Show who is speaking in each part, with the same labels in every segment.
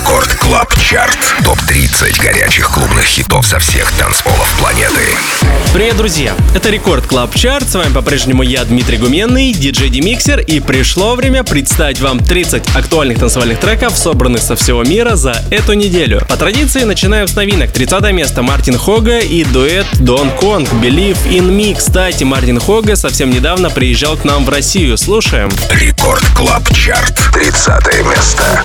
Speaker 1: Рекорд Клаб Чарт. Топ-30 горячих клубных хитов со всех танцполов планеты.
Speaker 2: Привет, друзья! Это Рекорд Клаб Чарт. С вами по-прежнему я, Дмитрий Гуменный, диджей Демиксер. И пришло время представить вам 30 актуальных танцевальных треков, собранных со всего мира за эту неделю. По традиции начинаем с новинок. 30 место Мартин Хога и дуэт Дон Конг Believe in Me. Кстати, Мартин Хога совсем недавно приезжал к нам в Россию. Слушаем.
Speaker 1: Рекорд Клаб Чарт. 30 место.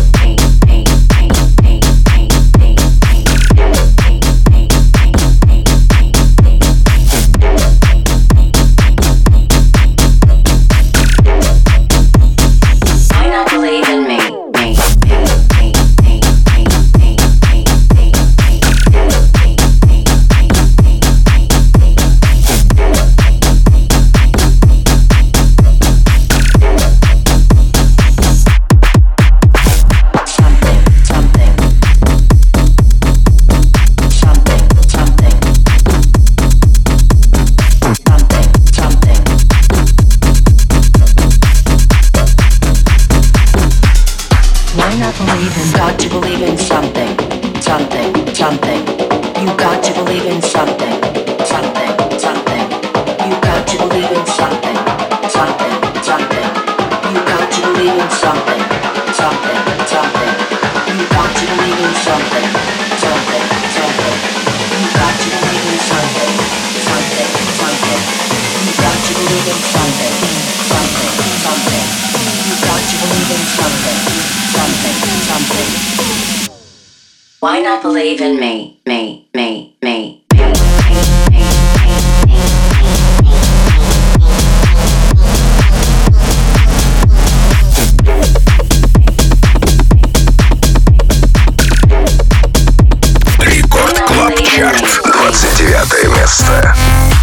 Speaker 3: Why not believe in me, me, me, me?
Speaker 1: Рекорд Клаб Чарт. 29 место.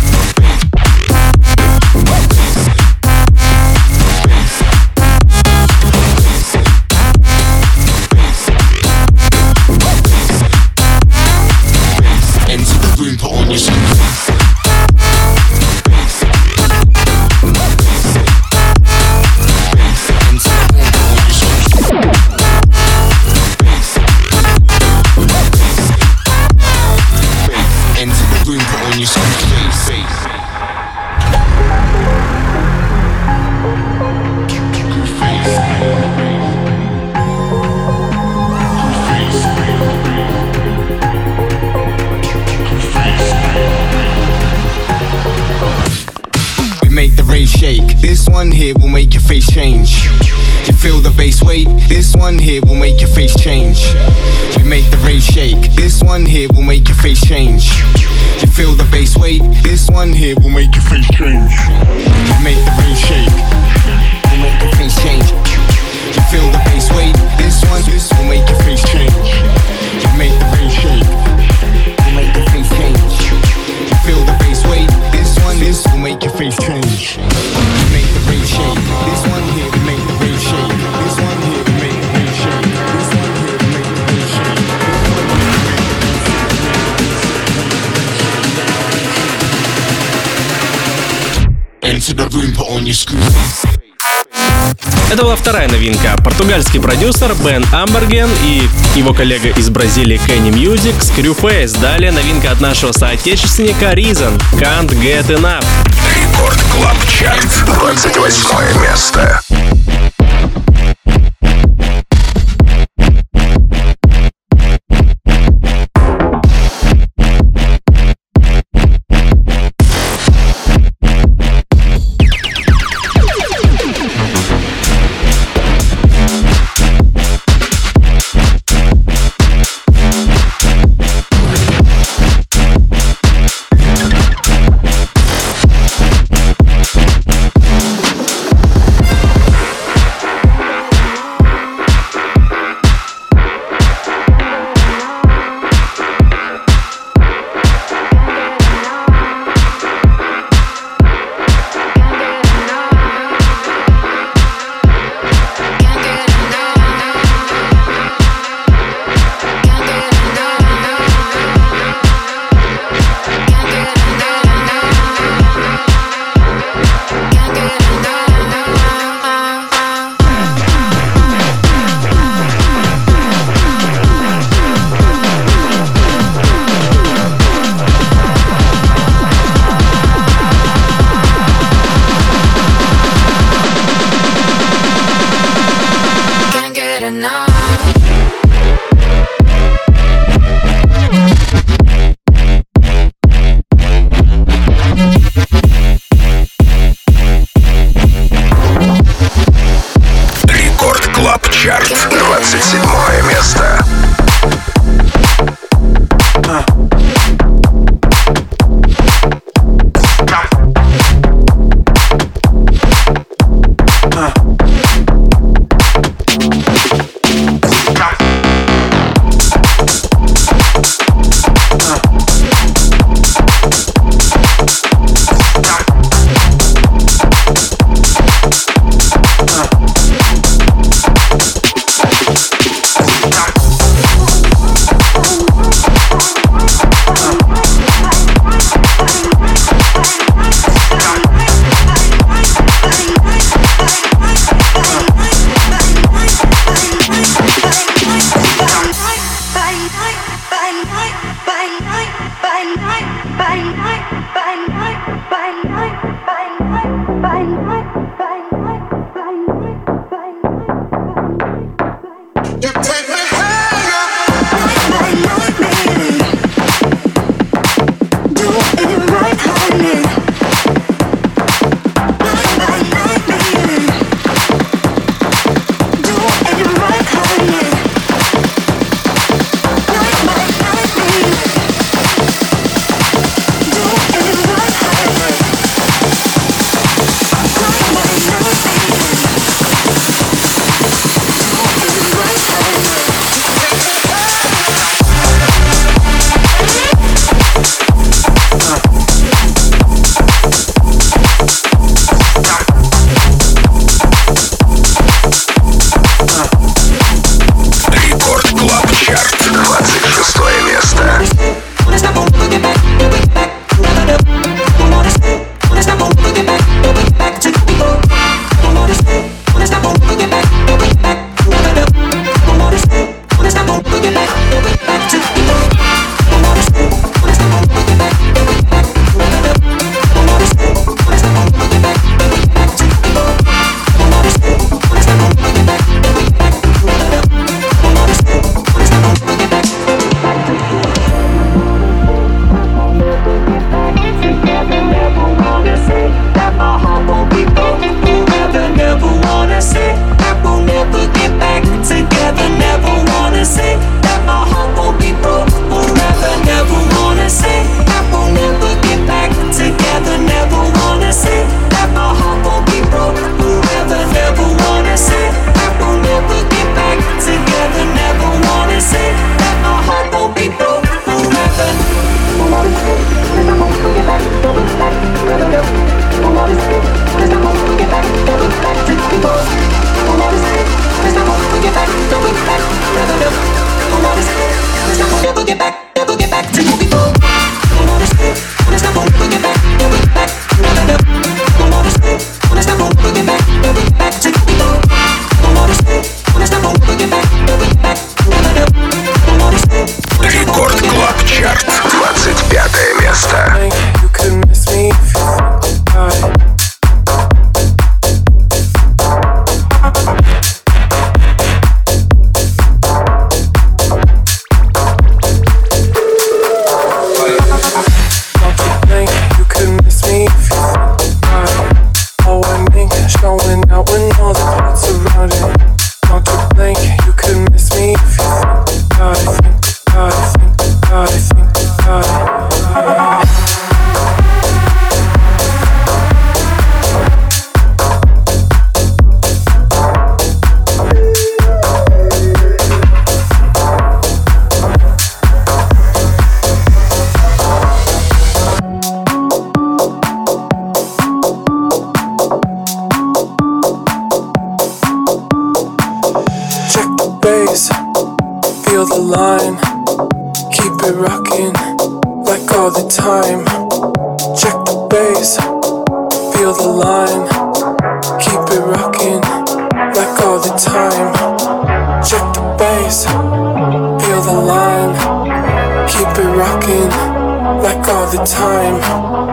Speaker 4: This one here will make your face change. You feel the bass weight? This one here will make your face change. We make the rave shake. This one here will make your face change. You feel the bass weight? This one here will make your face change. We make the rave shake. We'll make your face change. You feel the bass weight? This will make your face change. You make the rave shake. We'll make your face change. You feel the bass weight? This will make your face change. Make the rave shake. This one here will make the rave shake. This one here will make the rave shake. This one here will make the rave shake. Enter the room, put on your screws.
Speaker 2: Это была вторая новинка. Португальский продюсер Бен Амберген и его коллега из Бразилии Kenny Music Screwface. Далее новинка от нашего соотечественника Reason Can't Get Enough.
Speaker 1: Рекорд Клаб Чарт. 28 место. Рекорд Клаб Чарт, 27 место.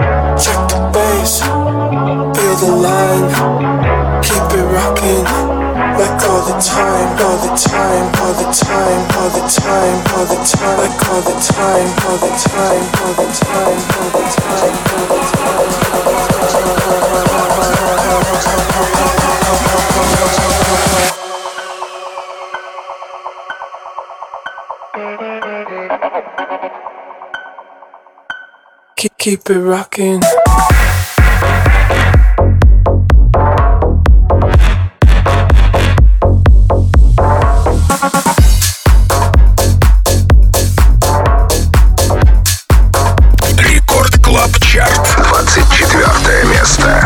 Speaker 5: Keep it rocking Like all the time, all the time, all the time, all the time, all the time, like all the time, all the time, all the time, all the time, all the time. Keep it rocking.
Speaker 1: Чарт, 24 место.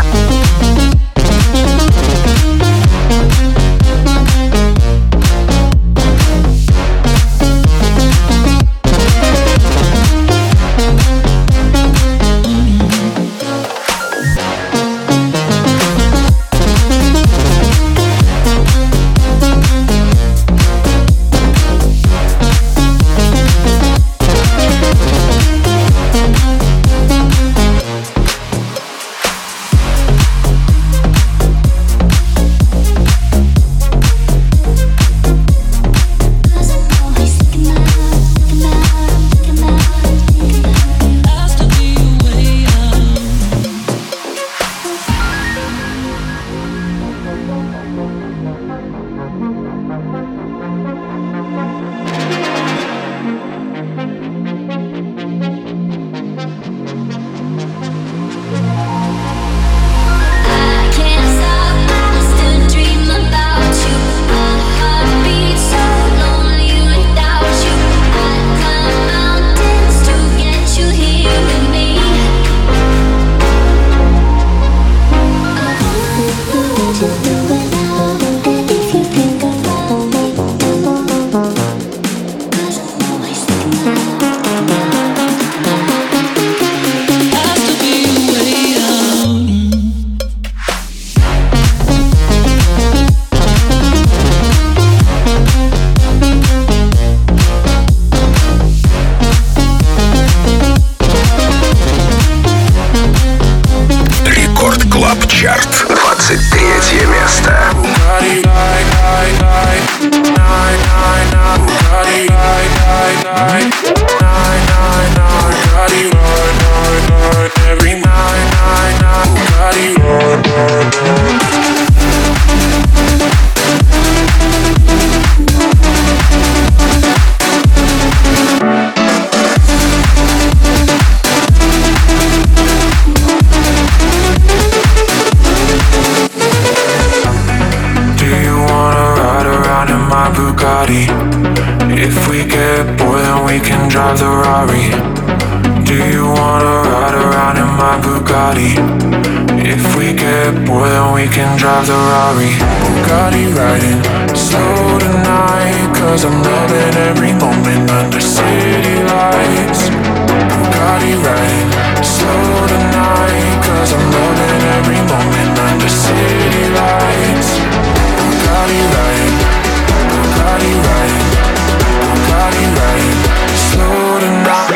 Speaker 5: If we get bored, then we can drive the Rari. Do you wanna ride around in my Bugatti? If we get bored, then we can drive the Rari. Bugatti riding slow tonight, 'cause I'm loving every moment under city lights. Bugatti riding slow tonight, 'cause I'm loving every moment under city lights. Bugatti riding, Bugatti riding, Bugatti riding slow tonight.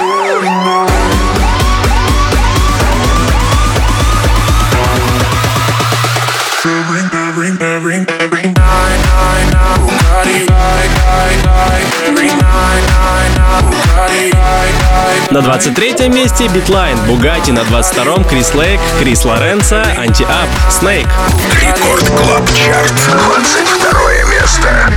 Speaker 5: Every night, Bugatti ride, every night, Bugatti ride.
Speaker 2: На 23-м месте Битлайн, Бугатти. На 22-м Крис Лейк, Крис Лоренцо, Анти-Ап, Снейк.
Speaker 1: Рекорд Клаб Чарт, 22 место.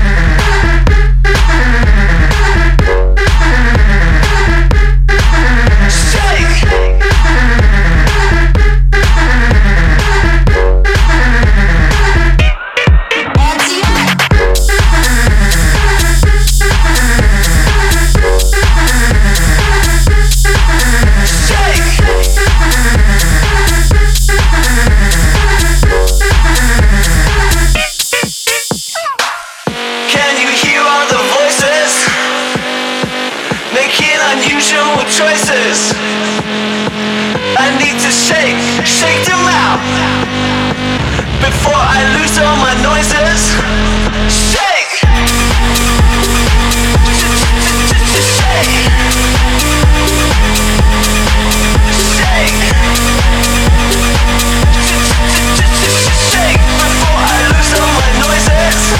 Speaker 6: Choices. I need to shake them out before I lose all my noises. Shake, shake, shake, shake before I lose all my noises.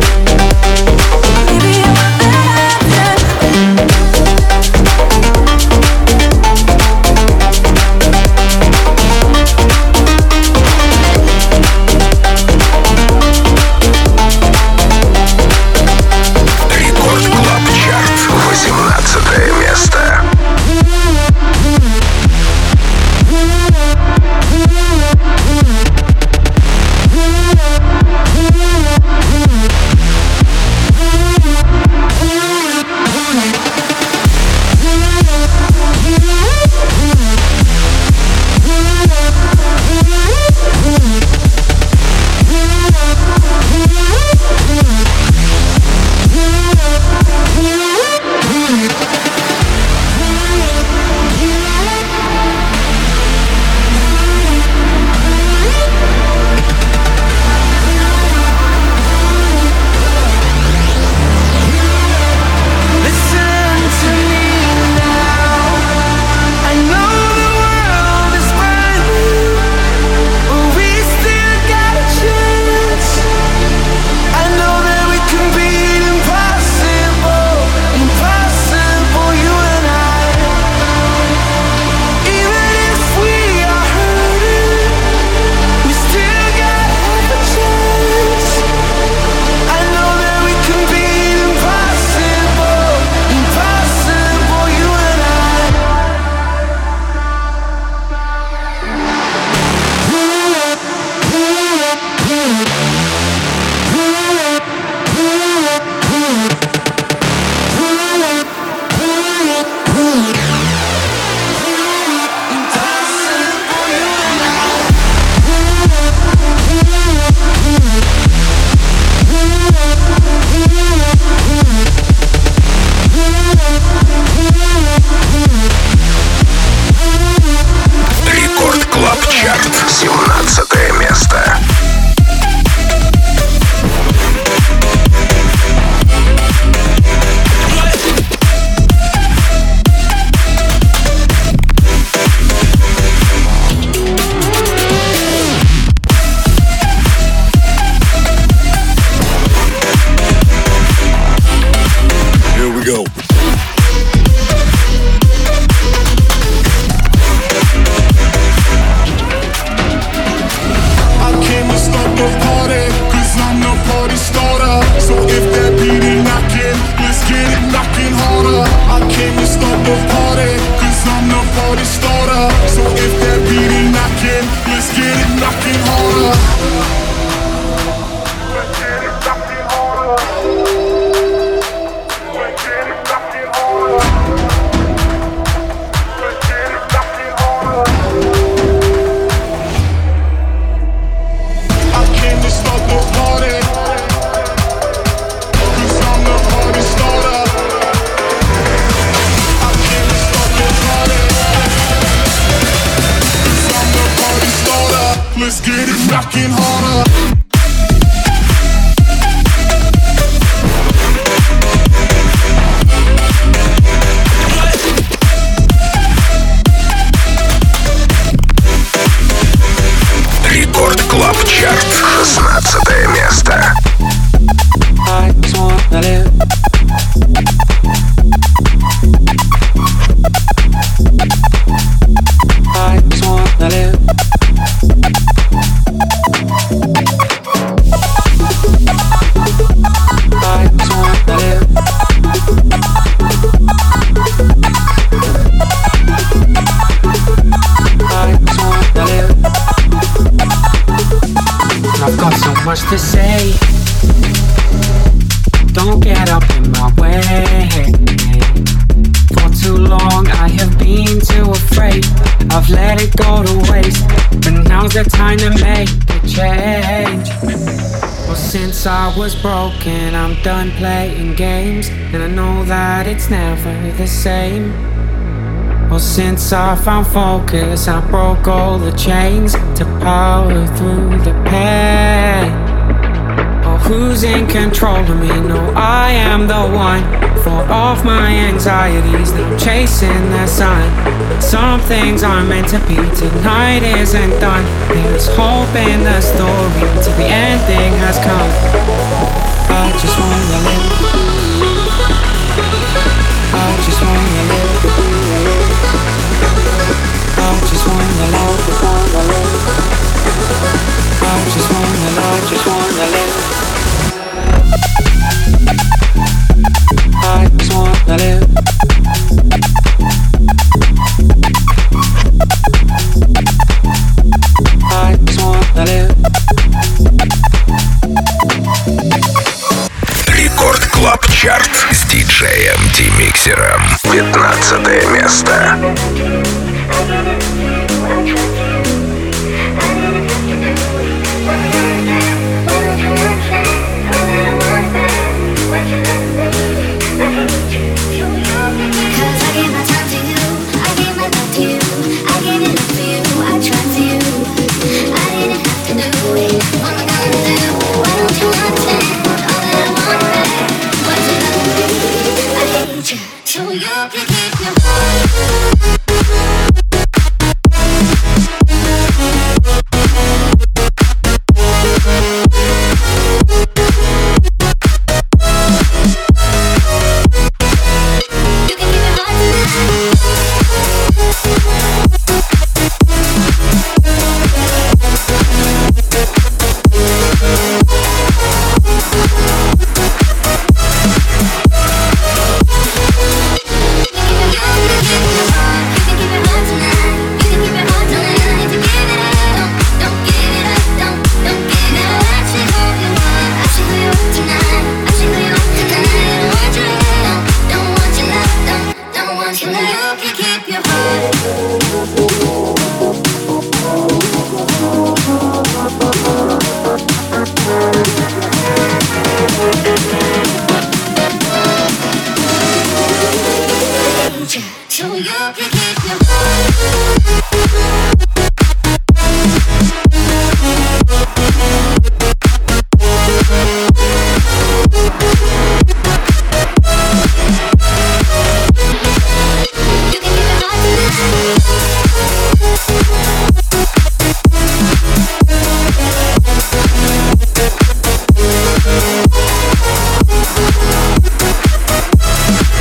Speaker 7: working harder.
Speaker 1: Рекорд Клаб Чарт, 16 место.
Speaker 5: I just wanna live. I just wanna live. I just wanna live. I just wanna live. I've got so much to say. Don't get up in my way. For too long I have been too afraid. I've let it go to waste, but now's the time to make a change. Well, since I was broken, I'm done playing games, and I know that it's never the same. Well, since I found focus, I broke all the chains to power through the pain. Oh, who's in control of me? No, I am the one. For off my anxieties, now I'm chasing the sun. Some things aren't meant to be, tonight isn't done. There's hope in the story till the ending has come. I just wanna live. I just wanna live. I just wanna live. I just wanna live. Just wanna live. I just wanna live. I just wanna live.
Speaker 1: Рекорд Клаб Чарт с диджеем D-Mixer'ом, 15 место.
Speaker 8: So you can keep your heart.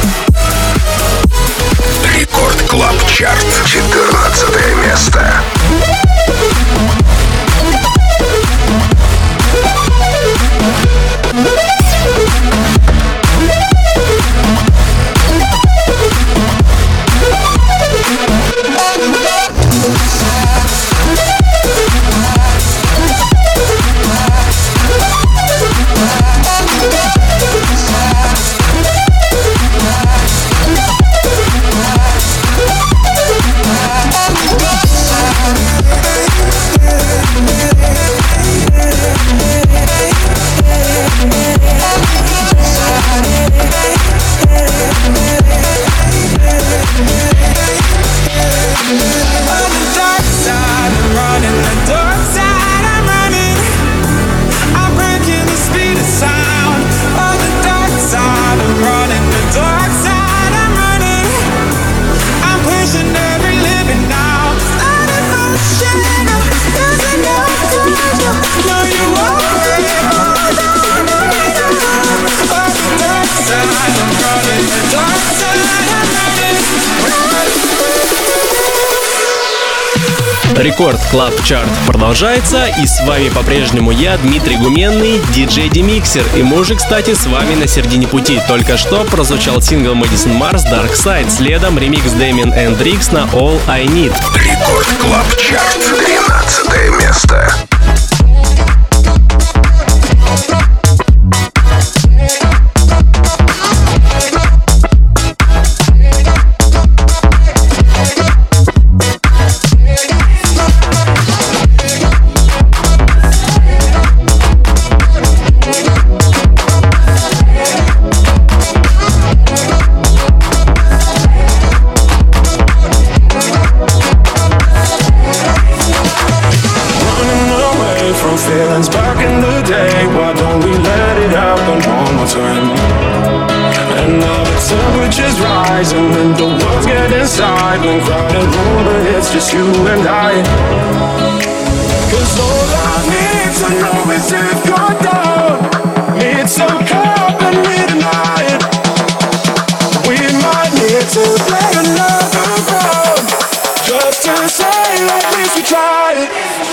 Speaker 1: Рекорд Клаб Чарт, 14 место.
Speaker 2: Рекорд Клаб Чарт продолжается, и с вами по-прежнему я, Дмитрий Гуменный, диджей Демиксер. И мы уже, кстати, с вами на середине пути. Только что прозвучал сингл Madison Mars Dark Side, следом ремикс Damien and Rix на All I Need.
Speaker 1: Рекорд Клаб Чарт, 13 место.
Speaker 5: When crowded room, but it's just you and I. 'Cause all I need to know is if you're down. Need some company tonight. We might need to play another round, just to say at least we tried.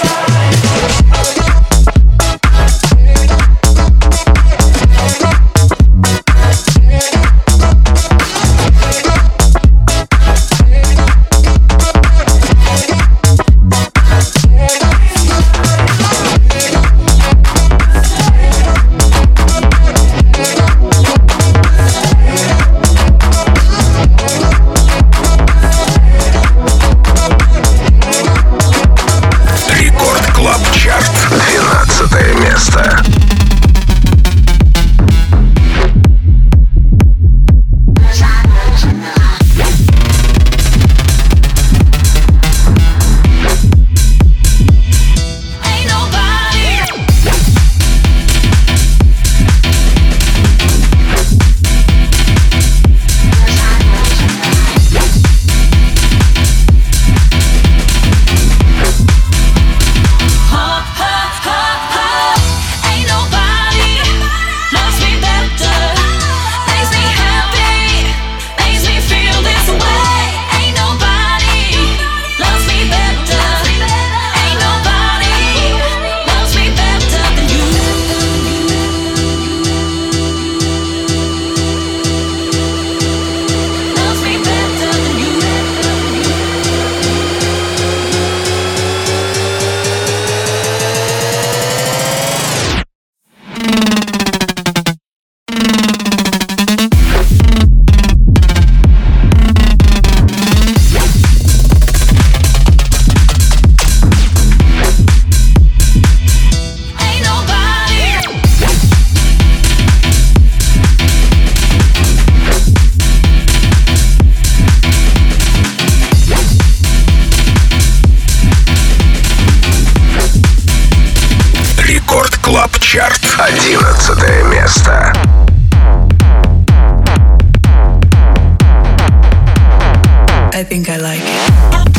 Speaker 1: Чарт, 11 место.
Speaker 8: I think I like it.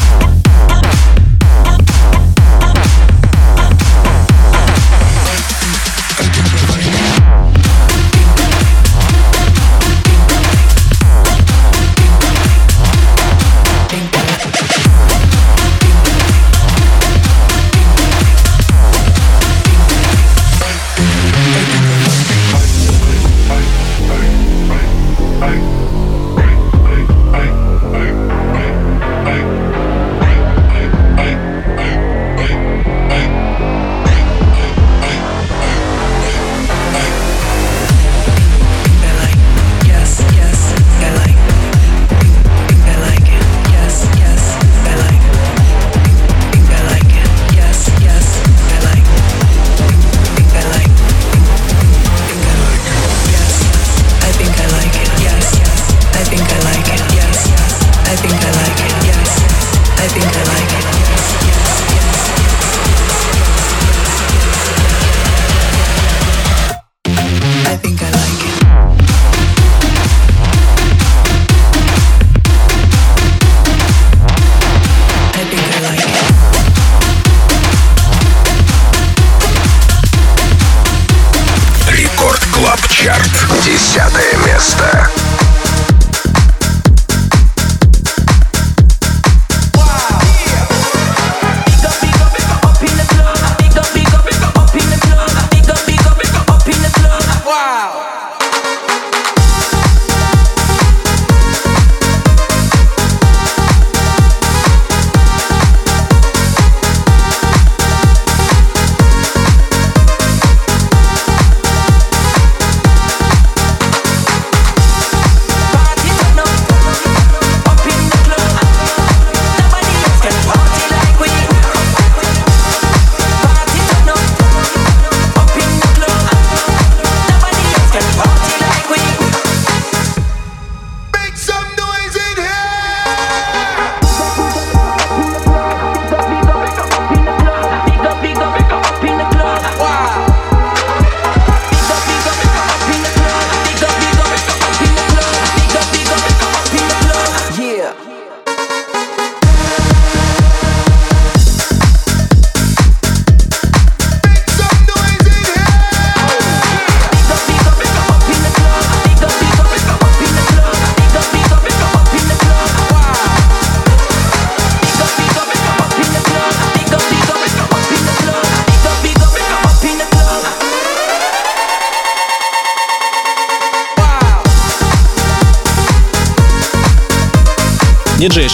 Speaker 1: Чарт, 10 место.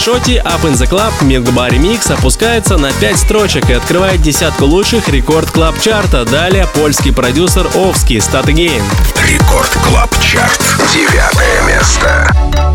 Speaker 2: Шоти Up in the Club Мидба ремикс опускается на 5 строчек и открывает десятку лучших рекорд клаб чарта. Далее польский продюсер Овский Start Again.
Speaker 1: Рекорд Клаб Чарт. 9 место.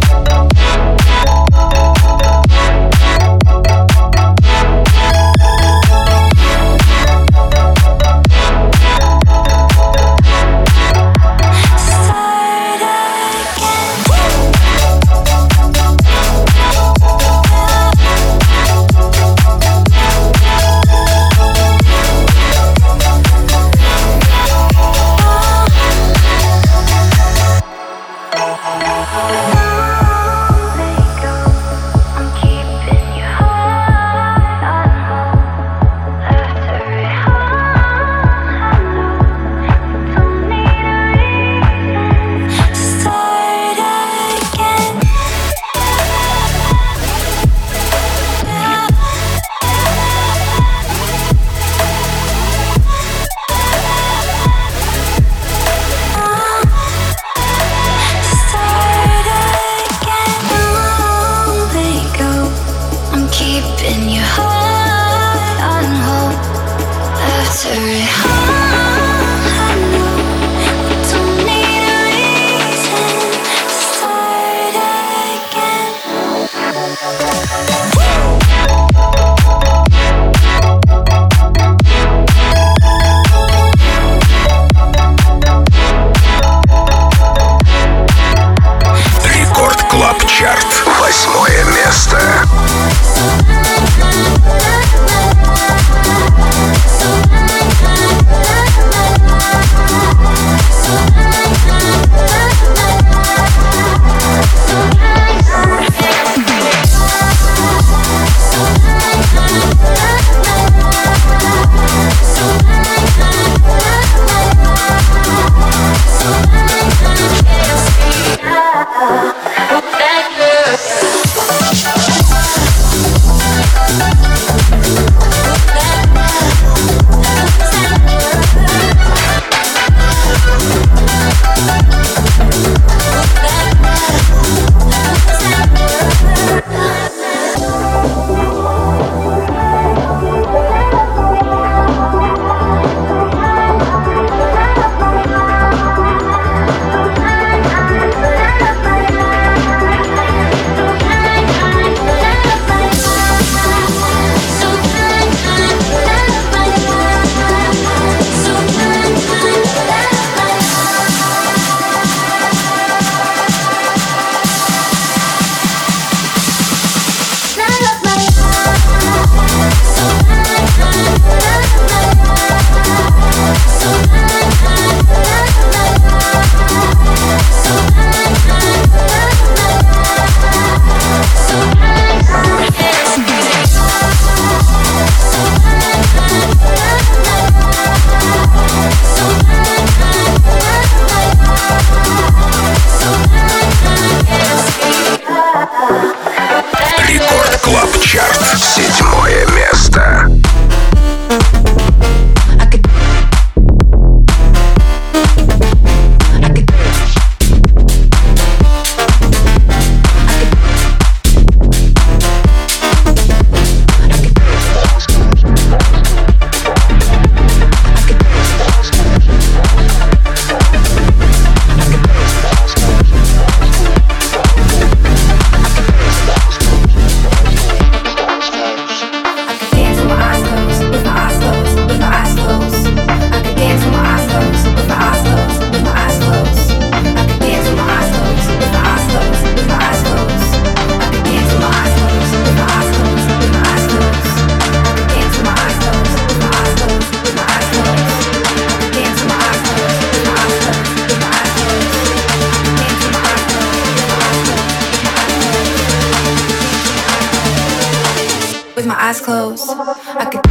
Speaker 8: eyes closed. I could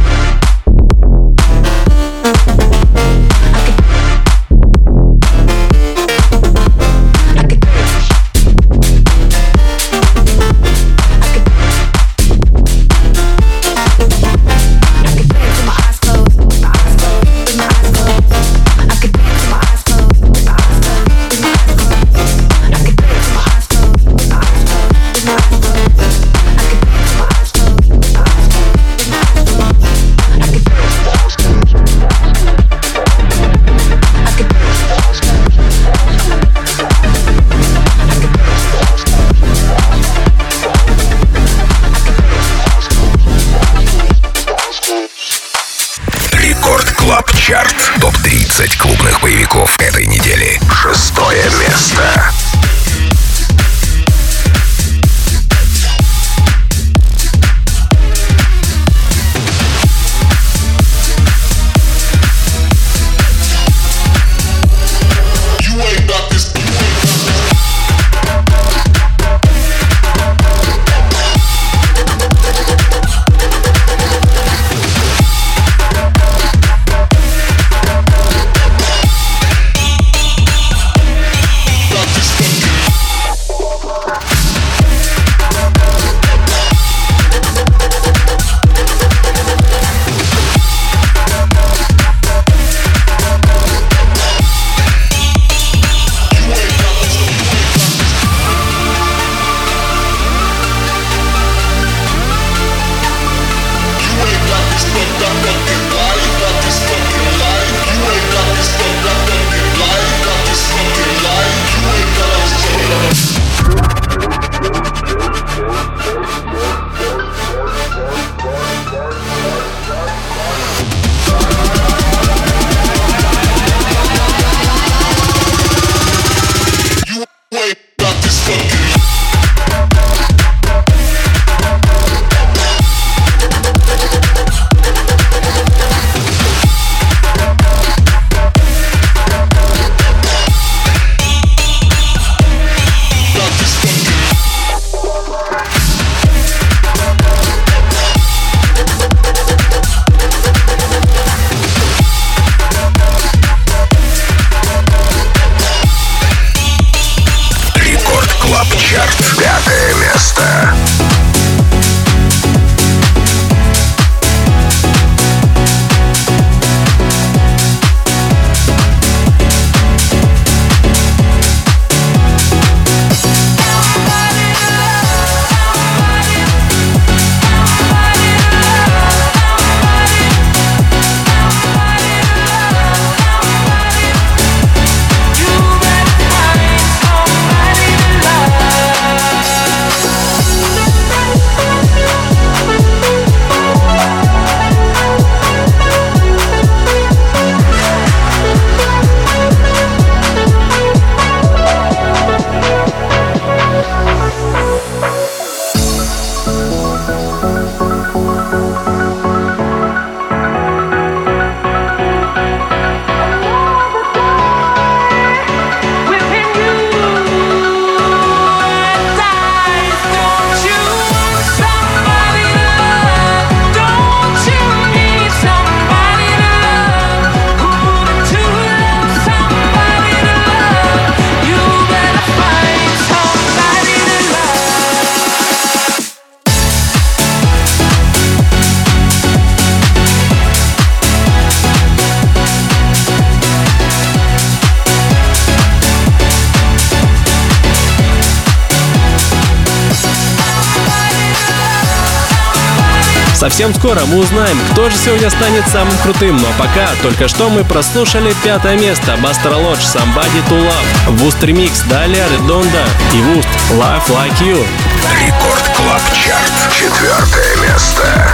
Speaker 8: I could
Speaker 1: Чарт. Топ-30 клубных боевиков этой недели. 6-е место.
Speaker 2: Совсем скоро мы узнаем, кто же сегодня станет самым крутым. Но пока только что мы прослушали 5-е место Buster Lodge Somebody to Love, Wust ремикс, далее Redonda и Wust Life Like You.
Speaker 1: Рекорд Клаб Чарт. 4-е место.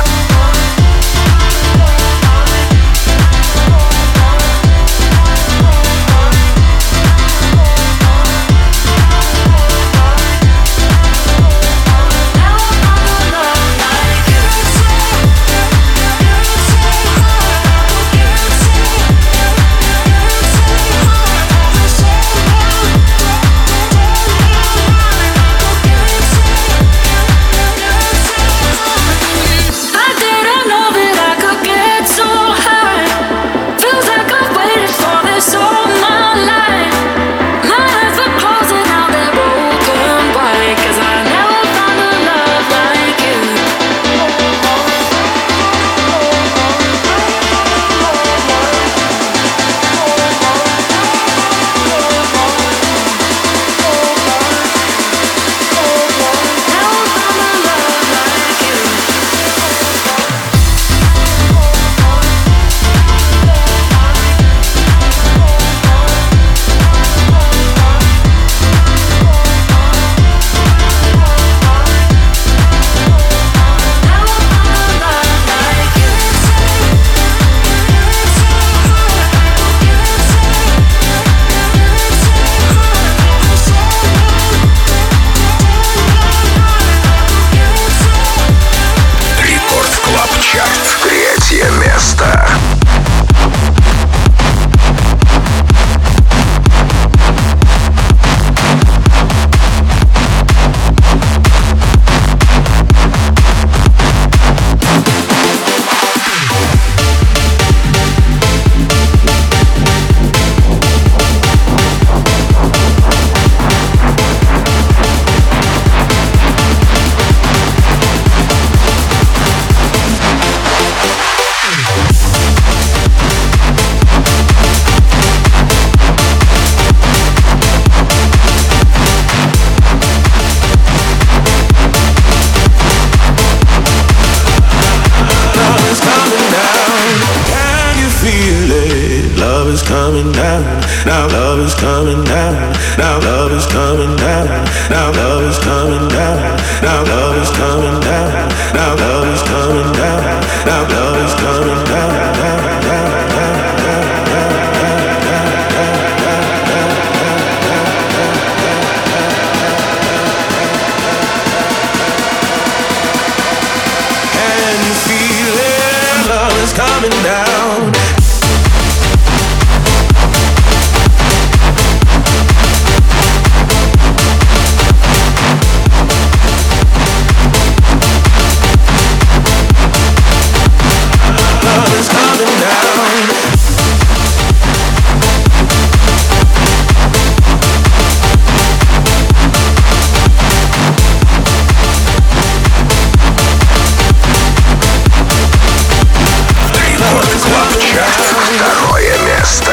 Speaker 5: Now love is coming down. Now love is coming down. Now love is coming down. Now love is coming down. Now love is coming down. Now love is coming down. Can you feel it? Love is coming down. Love is coming down.
Speaker 1: Рекорд Клаб Чарт. Второе место.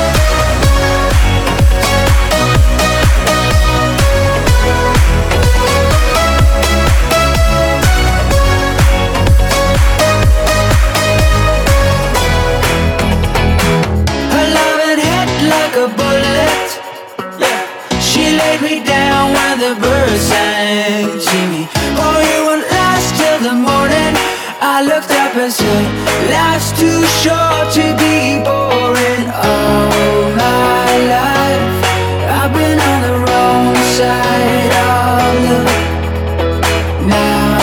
Speaker 8: Her loving hit like a bullet. Yeah, she laid me down when the birds sang to me. Oh, you won't last till the morning. I looked up and said, life's too short to be boring. All my life I've been on the wrong side of love. Now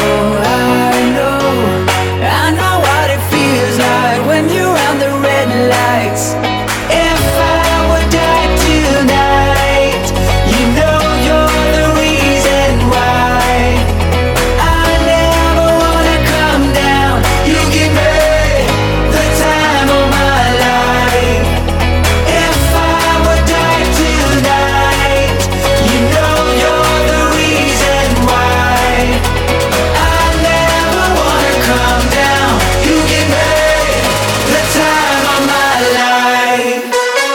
Speaker 8: I know what it feels like when you're on the red lights. If I would die tonight, you know you're the reason why. I never wanna come down. You give me the time of my life. If I would die tonight, you know you're the reason why. I never wanna come down. You give me the time of my life.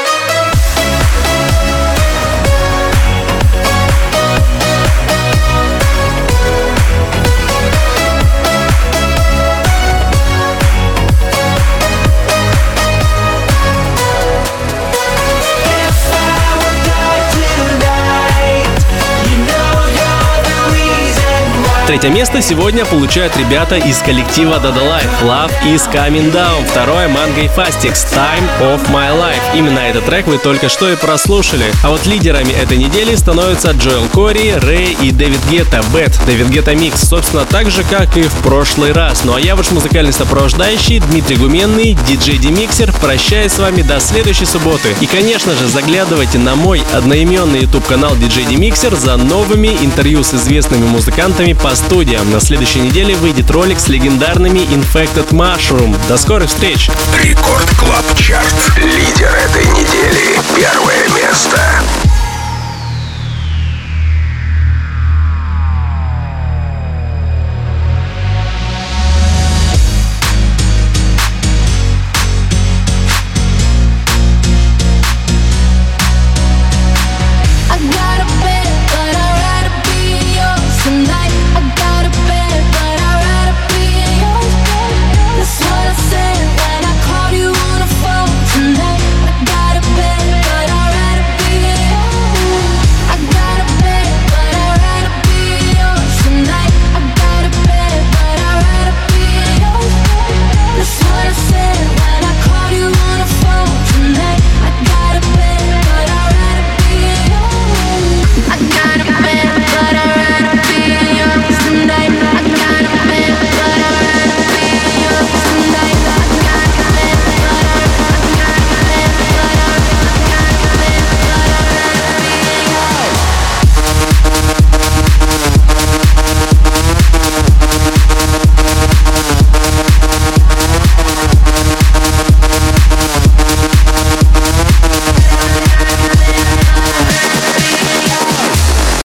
Speaker 8: If I would die tonight, you know you're the reason why.
Speaker 2: Третье место сегодня получают ребята из коллектива Dada Life. Love is Coming Down. Второе Mango и Fastix. Time of My Life. Именно этот трек вы только что и прослушали. А вот лидерами этой недели становятся Джоэл Кори, Рэй и Дэвид Гетта. Bad, Дэвид Гетта Микс. Собственно, так же, как и в прошлый раз. Ну а я ваш музыкальный сопровождающий Дмитрий Гуменный, диджей Демиксер. Прощаюсь с вами до следующей субботы. И, конечно же, заглядывайте на мой одноименный YouTube-канал диджей Демиксер за новыми интервью с известными музыкантами по студиям. На следующей неделе выйдет ролик с легендарными Infected Mushroom. До скорых встреч!
Speaker 1: Рекорд Клаб Чарт. Лидер этой недели. Первое место.